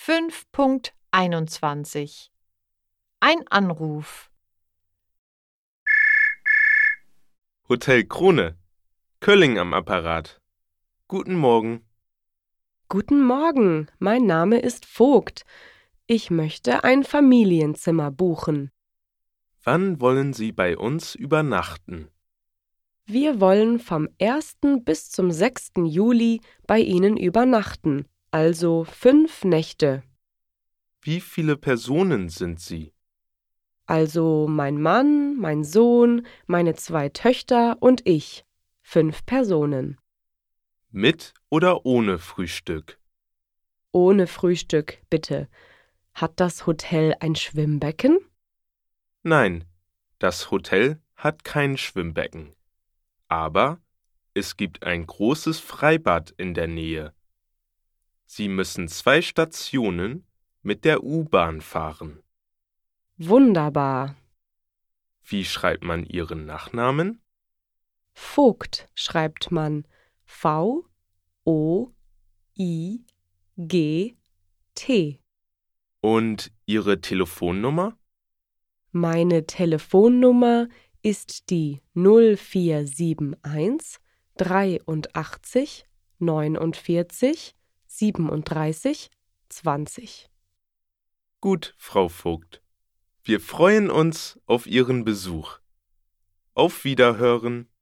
5.21 Ein Anruf. Hotel Krone, Kölling am Apparat. Guten Morgen. Guten Morgen, mein Name ist Vogt. Ich möchte ein Familienzimmer buchen. Wann wollen Sie bei uns übernachten? Wir wollen vom 1. bis zum 6. Juli bei Ihnen übernachten, also 5 Nächte. Wie viele Personen sind Sie? Also mein Mann, mein Sohn, meine 2 Töchter und ich. 5 Personen. Mit oder ohne Frühstück? Ohne Frühstück, bitte. Hat das Hotel ein Schwimmbecken? Nein, das Hotel hat kein Schwimmbecken. Aber es gibt ein großes Freibad in der Nähe. Sie müssen 2 Stationen mit der U-Bahn fahren. Wunderbar. Wie schreibt man Ihren Nachnamen? Vogt schreibt man V-O-I-G-T. Und Ihre Telefonnummer? Meine Telefonnummer ist die 0471 83 49 37 20. Gut, Frau Vogt. Wir freuen uns auf Ihren Besuch. Auf Wiederhören.